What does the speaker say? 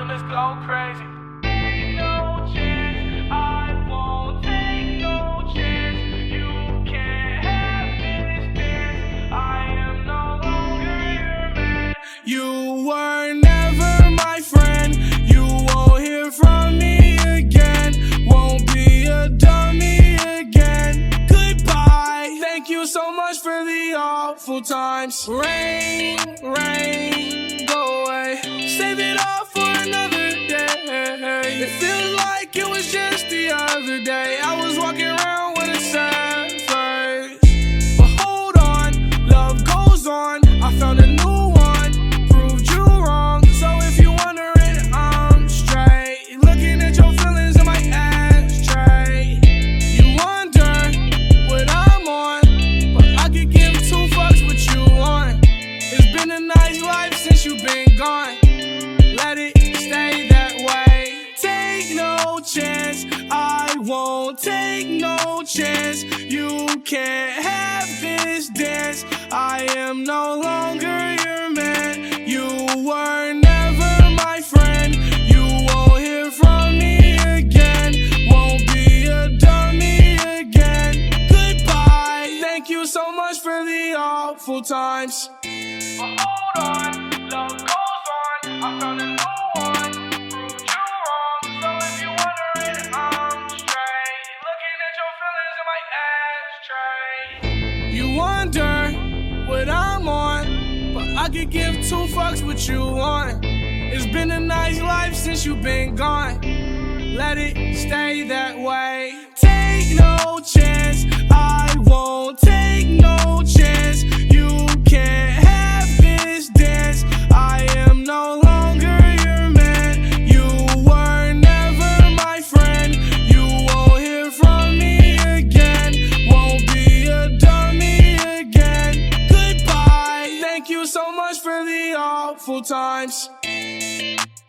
let's go crazy. Take no chance, I won't take no chance. You can't have this dance. I am no longer your man. You were never my friend. You won't hear from me again. Won't be a dummy again. Goodbye. Thank you so much for the awful times. Rain, rain, go away. Save it all for another day. It feels like it was just the other day. I was walking around with a sad face. But hold on, love goes on. I found a new one, proved you wrong. So if you're wondering, I'm straight. Looking at your feelings in my ashtray. You wonder what I'm on, but I could give two fucks what you want. It's been a nice life since you've been gone. Let it stay that way. Take no chance, I won't take no chance. You can't have this dance. I am no longer your man. You were never my friend. You won't hear from me again. Won't be a dummy again. Goodbye. Thank you so much for the awful times. But hold on, love goes on. I found a new one, proved you wrong. So if you're wondering, I'm straight. Looking at your feelings in my ashtray. You wonder what I'm on, but I could give two fucks what you want. It's been a nice life since you've been gone. Let it stay that way. Take no chance, I won't take no chance. You can't have this dance. I am no longer your man. You were never my friend. You won't hear from me again. Won't be a dummy again. Goodbye. Thank you so much for the awful times.